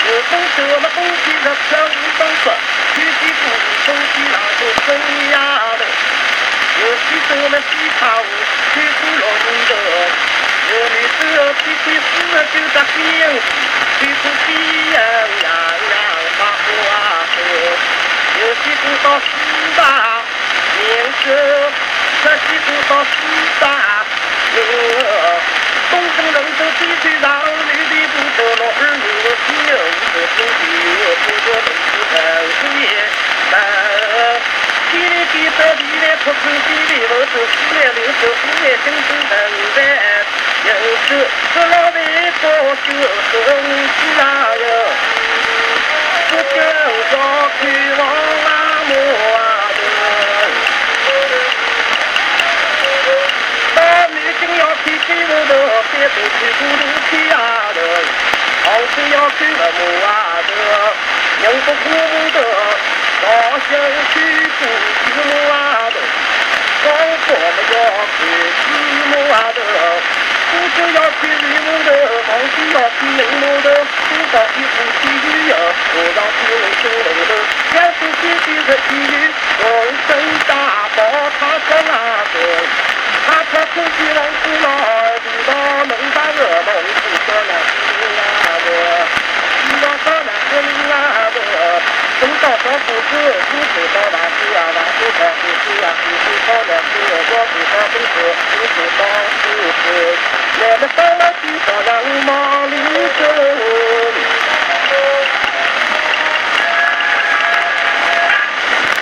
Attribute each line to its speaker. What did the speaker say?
Speaker 1: 我风车嘛，风起了飘无风霜，雨季不风起那个生呀的。我西手嘛西跑，去不龙的。我们这皮皮死就在边，去不西呀呀呀把花河。有西不到西大年生，这西不到西大东城人都必须让绿的不得落儿我心有不同的不得不是很也地里地这地里出出地里我是西来流走五来生生等待有时这老的多就是西哪有不就绕去往那么要去去我的，别不去不路去呀的，好是要去了么啊的，人不苦的，老想去不去么啊的，高高的要去去么啊的，不就要去绿么的，好是要去绿么的，不到去不去鱼呀，我要去绿青龙的，要是去的去鱼，浑身大包他在那个。他可出去往古老，知道能把我们不说那是那个，知道说那是那个，等到说不是，不知道那是啊，那是道不是啊，不知道那是我不知道不是，不知道不是，我们上了去到羊毛里走。